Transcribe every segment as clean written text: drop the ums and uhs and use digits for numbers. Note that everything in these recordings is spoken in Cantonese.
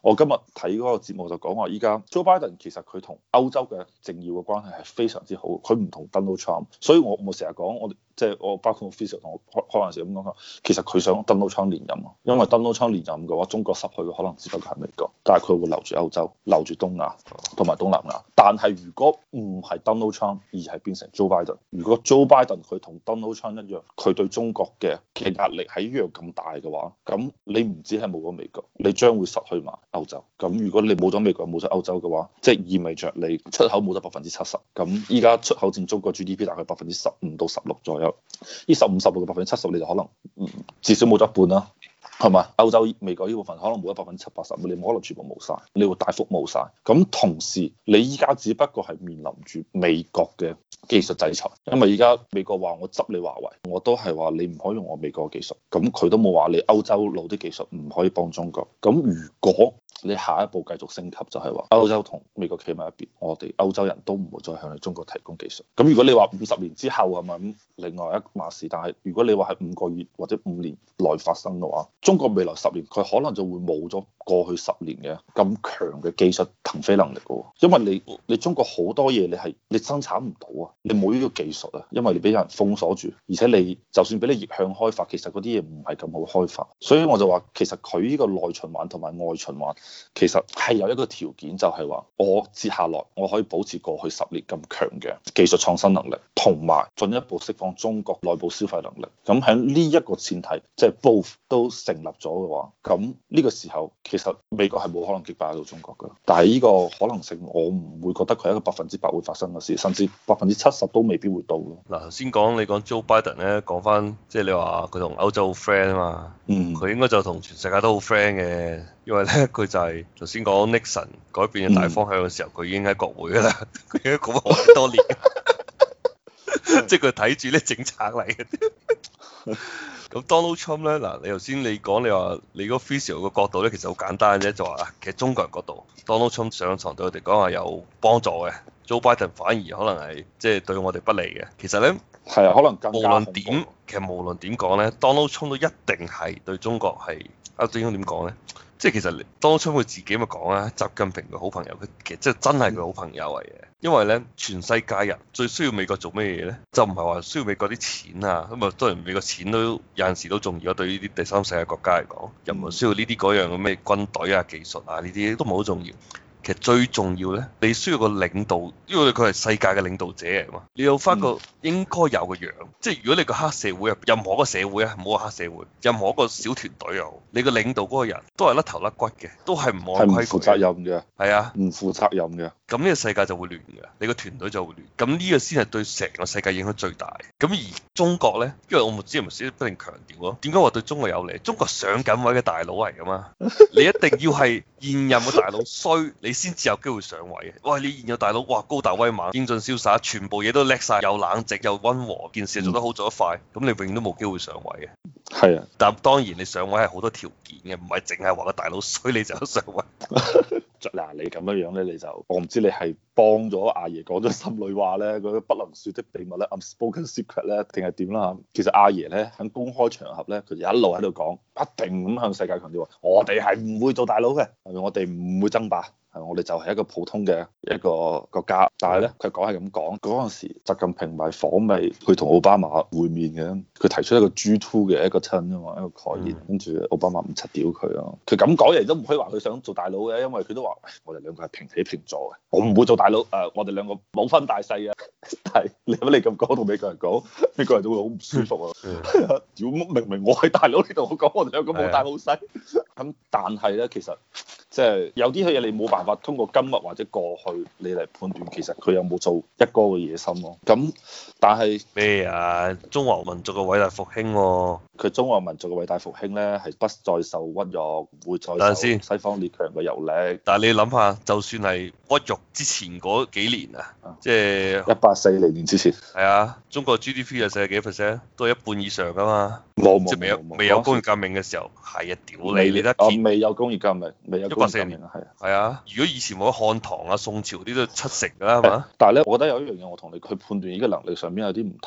我今日睇嗰個節目就講話，依家 Joe Biden 其實佢同歐洲嘅政要嘅關係係非常之好，佢唔同 Donald Trump，所以我成日講我哋。即係我包括我 Fisher 同我開玩笑咁講，其實佢想 Donald Trump 連任，因為 Donald Trump 連任嘅話，中國失去嘅可能只不過係美國，但係佢會留住歐洲、留住東亞同埋東南亞。但係如果唔係 Donald Trump 而係變成 Joe Biden，如果 Joe Biden 佢同 Donald Trump 一樣，佢對中國嘅壓力係一樣咁大嘅話，咁你唔止係冇咗美國，你將會失去埋歐洲。咁如果你冇咗美國、冇咗歐洲嘅話，即係意味着你出口冇得70%。咁依家出口佔中國 GDP 大概15%到16%左右。呢15%到70%，你就可能至少冇咗一半啦，係嘛？歐洲、美國呢部分可能冇咗70%-80%，你冇可能全部冇晒，你會大幅冇晒。咁同時，你依家只不過係面臨住美國嘅技術制裁，因為依家美國話我執你華為，我都係話你唔可以用我美國嘅技術，咁佢都冇話你歐洲佬啲技術唔可以幫中國。咁如果你下一步繼續升級，就係話歐洲同美國企埋一邊，我哋歐洲人都唔會再向你中國提供技術。咁如果你話50年之後係咪咁，另外一碼事。但係如果你話係5個月或者5年內發生嘅話，中國未來10年佢可能就會冇咗過去10年嘅咁強嘅技術騰飛能力嘅，因為你中國好多嘢你生產唔到啊，你冇呢個技術啊，因為你俾人封鎖住，而且你就算俾你逆向開發，其實嗰啲嘢唔係咁好開發。所以我就話其實佢呢個內循環同埋外循環其實係有一個條件，就係話我接下來我可以保持過去10年咁強嘅技術創新能力，同埋進一步釋放中國內部消費能力。咁喺呢一個前提，即係 both 都成立咗嘅話，咁呢個時候其實美國係冇可能擊敗到中國嘅。但係呢個可能性我唔會覺得佢係一個100%會發生嘅事，甚至70%都未必會到咯。 嗱，頭先你講 Joe Biden 咧，講翻即係你話佢同歐洲好 friend 啊嘛，佢應該就同全世界都好 friend 嘅，因為咧佢就係頭先講 Nixon 改變嘅大方向嘅時候，佢已經喺國會噶啦，佢已經講咗好多年，即係佢睇住啲政策嚟嘅。咁 Donald Trump 咧，嗱，你頭先你講你話你嗰 physical 嘅角度咧，其實好簡單啫，就話其實中國人角度 Donald Trump 上場對我哋講話有幫助嘅，Joe Biden 反而可能係即係對我哋不利嘅。其實咧係啊，可能更加無論點，其實無論點講咧，Donald Trump 都一定係對中國係啊，應該點講咧？即係其實 Donald Trump 佢自己咪講啦，習近平嘅好朋友，佢其實即係真係佢好朋友嚟嘅。因為咧，全世界人最需要美國做咩嘢咧？就唔係話需要美國啲錢啊，咁啊當然美國錢都有陣時都重要，對於啲第三世界國家嚟講，又唔係需要呢啲嗰樣嘅咩軍隊啊、技術啊呢啲都唔係好重要。其實最重要咧，你需要個領導，因為佢係世界嘅領導者嚟嘛，你有翻個應該有嘅樣。即係如果你個黑社會啊，任何一個社會啊，唔好話黑社會，任何一個小團隊又好，你個領導嗰個人都係甩頭甩骨嘅，都係唔按規矩， 係唔負責任嘅， 係啊， 唔負責任嘅。 咁呢個世界就會亂嘅，你個團隊就會亂。咁呢個先係對成個世界影響最大。咁而中國咧，因為我唔知係咪先不停強調咯，點解話對中國有利？中國上緊位嘅大佬嚟噶嘛，你一定要係現任嘅大佬衰，你先至有機會上位嘅。喂，你現有大佬哇高大威猛、英俊瀟灑，全部嘢都叻晒，又冷靜又溫和，件事做得好做得快，咁你永遠都冇機會上位嘅。 係啊， 但當然你上位係好多條件嘅，唔係淨係話個大佬衰你就有上位。 嗱，你咁樣樣咧，你就我唔知你係幫咗阿爺講咗心裏話咧，嗰啲不能説的秘密咧，unspoken secret 咧，定係點啦？其實阿爺咧喺公開場合咧，佢就一路喺度講，不定咁向世界強調話，我哋係唔會做大佬嘅，係咪？我哋唔會爭霸。係，我哋就係一個普通嘅一個國家，但係咧，佢講係咁講，嗰陣時習近平咪訪美去同奧巴馬會面嘅，佢提出一個 G2 嘅一個親啊嘛，一個概念，跟住奧巴馬唔柒屌佢啊，佢咁講嘢都唔可以話佢想做大佬嘅，因為佢都話，我哋兩個係平起平坐嘅，我唔會做大佬，我哋兩個冇分大細嘅，但係你咁講同美國人講，美國人都會好唔舒服啊，屌明明我係大佬，你同我講我哋兩個冇大冇細，咁但係咧其實即係有啲嘢你冇辦法通過今日或者過去你嚟判斷，其實佢有冇做一哥嘅野心咯。咁但係咩啊？中華民族嘅偉大復興喎， 佢中華民族嘅偉大復興咧，係不再受屈辱，唔會再受西方列強嘅蹂躪。 但係你諗下，就算係屈辱之前嗰幾年啊，即係 1840年之前， 係啊，中國 GDP 係世界幾 percent？都係一半以上噶嘛。 冇即係未有工業革命嘅時候，係啊，屌你得見未有工業革命，未有工業革命啊，係啊， 係啊。如果以前冇漢唐啊、宋朝啲都70%㗎啦，係嘛？ 但係咧，我覺得有一樣嘢，我同你去判斷呢個能力上邊有啲唔同。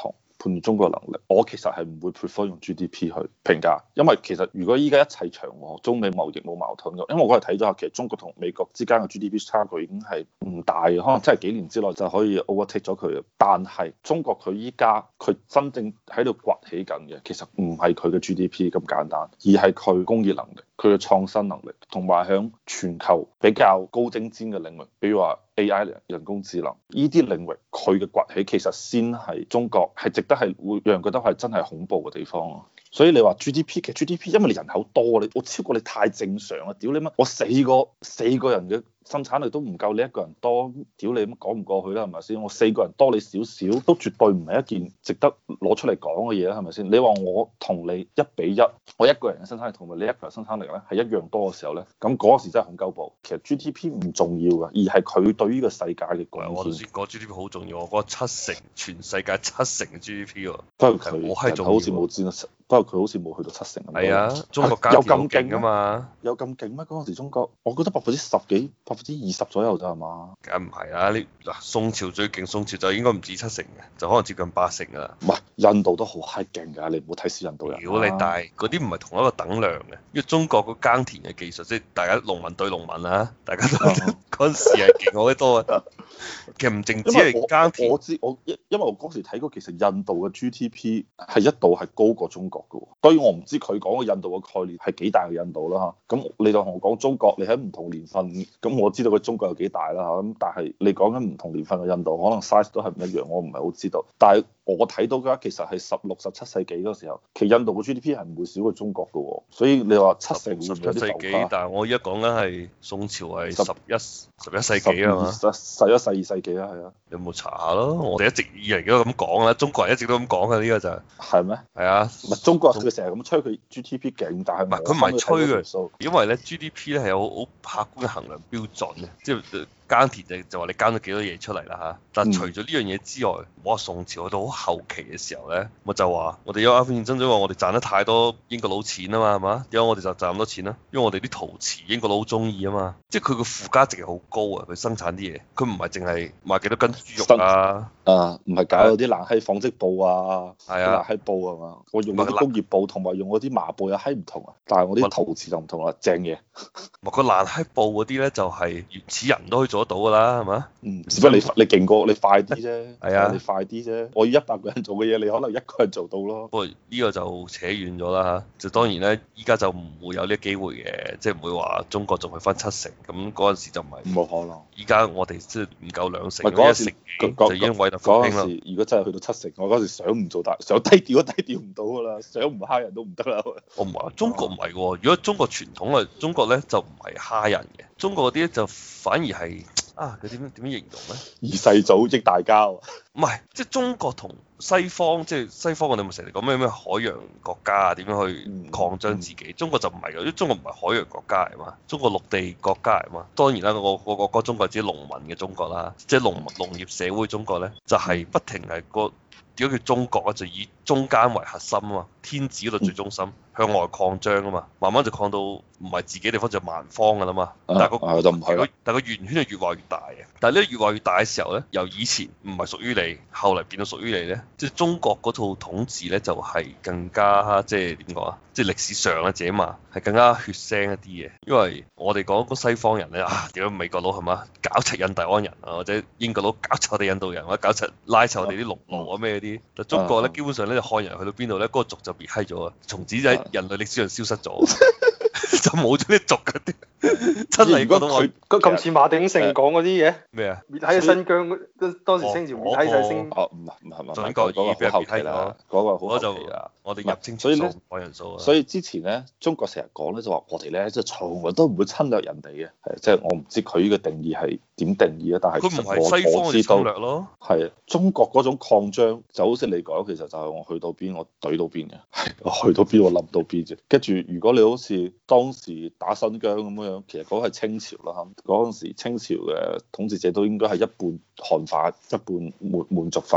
判斷中國嘅能力，我其實係唔會 prefer 用 GDP 去評價，因為其實如果依家一切祥和，中美貿易冇矛盾嘅，因為我嗰日睇咗下，其實中國同美國之間嘅 GDP 差距已經係唔大嘅，可能真係幾年之內就可以 overtake 咗佢嘅。但係中國佢依家佢真正喺度崛起緊嘅，其實唔係佢嘅 GDP 咁簡單，而係佢工業能力、佢嘅創新能力，同埋響全球比較高精尖嘅領域，比如話 AI 人工智能呢啲領域，佢嘅崛起其實先係中國係值得係會讓人覺得係真係恐怖嘅地方咯。所以你話 GDP 其實 GDP，因為你人口多，你我超過你太正常啦！屌你乜，我四個人嘅生產力都唔夠你一個人多，屌你乜講唔過去啦，係咪先？我四個人多你少少，都絕對唔係一件值得攞出嚟講嘅嘢啦，係咪先？你話我同你1:1，我一個人嘅生產力同埋你一個人生產力咧係一樣多嘅時候咧，咁嗰時真係恐鳩暴。其實 GDP 唔重要㗎，而係佢對於呢個世界嘅貢獻。 我頭先講 GDP 好重要，我覺得7成全世界7成嘅 GDP 喎。 不過佢我係人口好似冇佔，不過佢好似冇去到7成咁。 係啊，中國耕田好勁㗎嘛？ 有咁勁咩？嗰陣時中國，我覺得10%幾、20%左右咋係嘛？ 梗唔係啦，你嗱宋朝最勁，宋朝就應該唔止7成嘅，就可能接近8成㗎啦。 唔係，印度都好閪勁㗎，你唔好睇小印度人。 如果你大嗰啲唔係同一個等量嘅，因為中國個耕田嘅技術，即係大家農民對農民啊，大家都嗰陣時係勁好得多啊。其實唔淨止係耕田， 因為我嗰時睇過，其實印度嘅 GDP 係一度係高過中國嘅喎。當然我唔知佢講嘅印度嘅概念係幾大嘅印度啦嚇。咁你就同我講中國，你喺唔同年份，咁我知道佢中國有幾大啦嚇。咁但係你講緊唔同年份嘅印度，可能 size 都係唔一樣，我唔係好知道。但係我睇到嘅話，其實係16、17世紀嗰時候，其實印度嘅 GDP 係唔會少過中國嘅喎。所以你話7成 17世紀，但係我而家講緊係宋朝係11世紀啊嘛。 11、12世紀啊，係啊。 有冇查下咯？我哋一直以嚟都咁講啦，中國人一直都咁講嘅呢個就係咩？ 係啊， 唔係中國佢成日咁吹佢 GDP 勁，但係佢唔係吹嘅，因為咧 GDP 咧係有好客觀嘅衡量標準嘅，即係耕田就話你耕咗幾多嘢出嚟啦嚇。但係除咗呢樣嘢之外，我話宋朝去到好後期嘅時候咧，我就話我哋有啱先爭咗話我哋賺得太多英國佬錢啊嘛，係嘛？點解我哋就賺咁多錢啦？因為我哋啲陶瓷英國佬好中意啊嘛，即係佢個附加值係好高啊！佢生產啲嘢，佢唔係淨係賣幾多斤豬肉啊， 唔係搞嗰啲爛閪紡織布啊， 係啊， 爛閪布啊嘛，我用嗰啲工業布同埋用嗰啲麻布有閪唔同啊，但係我啲陶瓷就唔同啦，正嘢。 個爛閪布嗰啲咧就係原始人都可以做得到㗎啦，係嘛？ 只不過你勁過你快啲啫， 係啊， 你快啲啫。我要100個人做嘅嘢，你可能1個人做到咯。 不過呢個就扯遠咗啦嚇，就當然咧，依家就唔會有呢個機會嘅，即係唔會話中國仲去翻7成，咁嗰陣時就唔係冇可能。 依家我哋即係唔夠2成， 嗰陣時就已經偉大復興啦。 如果真係去到7成，我嗰時想唔做大，想低調都低調唔到㗎啦，想唔蝦人都唔得啦。 我唔係，中國唔係喎。如果中國傳統啊，中國咧就唔係蝦人嘅，中國嗰啲咧就反而係佢點樣形容咧？ 二世祖益大家。 唔係，即係中國同西方，即係西方我哋咪成日講咩海洋國家啊，點樣去擴張自己？中國就唔係嘅，因為中國唔係海洋國家嚟嘛，中國陸地國家嚟嘛。當然啦，我講中國係指農民嘅中國啦，即係農業社會中國咧，就係不停係點解叫中國啊？就以中間為核心啊嘛，天子嗰度最中心，向外擴張啊嘛，慢慢就擴到唔係自己地方就蠻方噶啦嘛。但係就唔係， 但係個圓圈係越畫越大嘅。但係呢越畫越大嘅時候咧，由以前唔係屬於你，後嚟變到屬於你咧，即係中國嗰套統治咧就係更加即係點講啊？即係歷史上啊，自己嘛係更加血腥一啲嘅。因為我哋講個西方人咧點解美國佬係嘛搞柒印第安人啊，或者英國佬搞柒我哋印度人，或者搞柒拉柒我哋啲農奴啊咩啲。但中國咧基本上咧就漢人去到邊度咧，嗰個族就滅閪咗啊，從此喺人類歷史上消失咗，就冇咗啲族嗰啲。真係如果佢咁似馬鼎盛講嗰啲嘢咩啊？ 滅喺新疆當時清朝滅喺晒星。 唔係中國已經俾人滅閪啦， 嗰個好後期啦。 我哋入清所以咧講人數啊。 所以之前咧，中國成日講咧就話我哋咧即係從來都唔會侵略人哋嘅，係即係我唔知佢呢個定義係點定義啊，但係佢唔係西方嘅侵略咯。 係中國嗰種擴張就好似你講，其實就係我去到邊我懟到邊嘅，我去到邊我冧到邊啫。跟住如果你好似當時打新疆咁樣，其實嗰個係清朝啦，嗰陣時清朝嘅統治者都應該係一半漢化一半滿族化。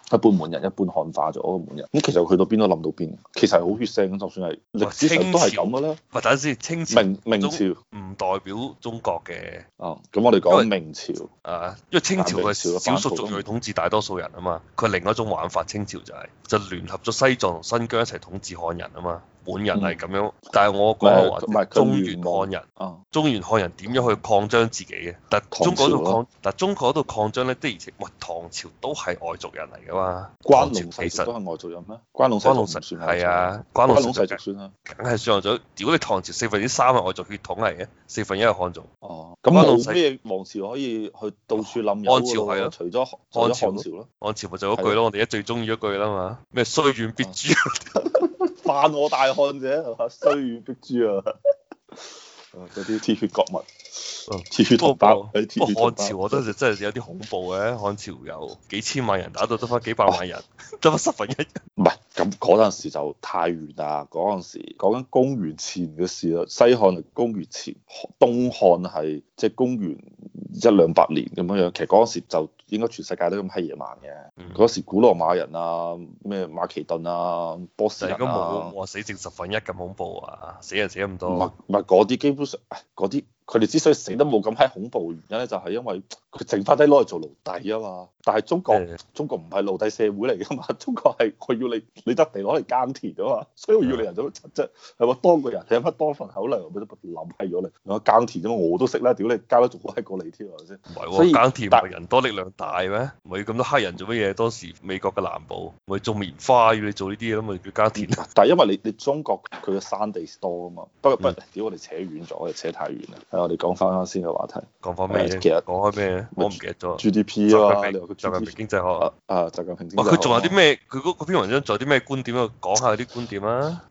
一半滿人，一半漢化咗個滿人。咁其實去到邊都諗到邊，其實係好血腥，就算係歷史上都係咁嘅啦。 喂，等陣先，清朝明朝唔代表中國嘅。 哦，咁我哋講明朝。 因為清朝係少數族裔統治大多數人啊嘛，佢係另一種玩法。清朝就聯合咗西藏同新疆一齊統治漢人啊嘛。滿人係咁樣，但係我講話中原漢人，中原漢人點樣去擴張自己嘅？但中國度擴張咧，的而且唐朝都係外族人嚟噶嘛。 關隴其實都係外族人咩？關隴世族算係啊，關隴世族算啊，梗係算外族。如果你唐朝3/4係外族血統嚟嘅，1/4係漢族。哦， 咁冇咩王朝可以去到處冧？ 漢朝係咯， 除咗漢朝咯。 漢朝咪就嗰句咯，我哋而家最中意嗰句啦嘛，咩雖遠必誅。 犯我大漢者係嘛？雖遠必誅啊！嗰啲鐵血國民，鐵血同胞。不過漢朝我覺得就真係有啲恐怖嘅，漢朝有幾千萬人打到得翻幾百萬人，得翻1/10。 唔係，咁嗰陣時就太遠啦。嗰陣時講緊公元前嘅事啦，西漢係公元前，東漢係即係公元100-200年咁樣樣。其實嗰陣時就應該全世界都咁閪野蠻嘅。嗰時古羅馬人啊，咩馬其頓啊、波斯人啊， 冇話死剩1/10咁恐怖啊，死人死咁多。 唔係嗰啲基本上，嗰啲佢哋之所以死得冇咁閪恐怖嘅原因咧，就係因為佢剩翻低攞嚟做奴隸啊嘛。但係中國唔係奴隸社會嚟噶嘛，中國係我要你得地攞嚟耕田啊嘛，所以我要你人做乜柒啫？係嘛，多個人有乜多份口糧，我都諗閪咗你。我耕田啫嘛，我都識啦，屌你耕得仲好閪過你添係咪先？ 唔係喎，耕田唔係人多力量大咩？唔係咁多黑人做乜嘢？當時美國嘅南部咪種棉花，要你做呢啲嘢咁咪叫耕田。 但係因為你中國佢嘅山地多啊嘛。不過屌我哋扯遠咗，我哋扯太遠啦。係我哋講翻啱先嘅話題。 講翻咩？其實講開咩？我唔記得咗。 GDP 啊嘛， 習近平經濟學習近平經濟學。 佢仲有啲咩？佢嗰篇文章仲有啲咩觀點啊？講下啲觀點啊！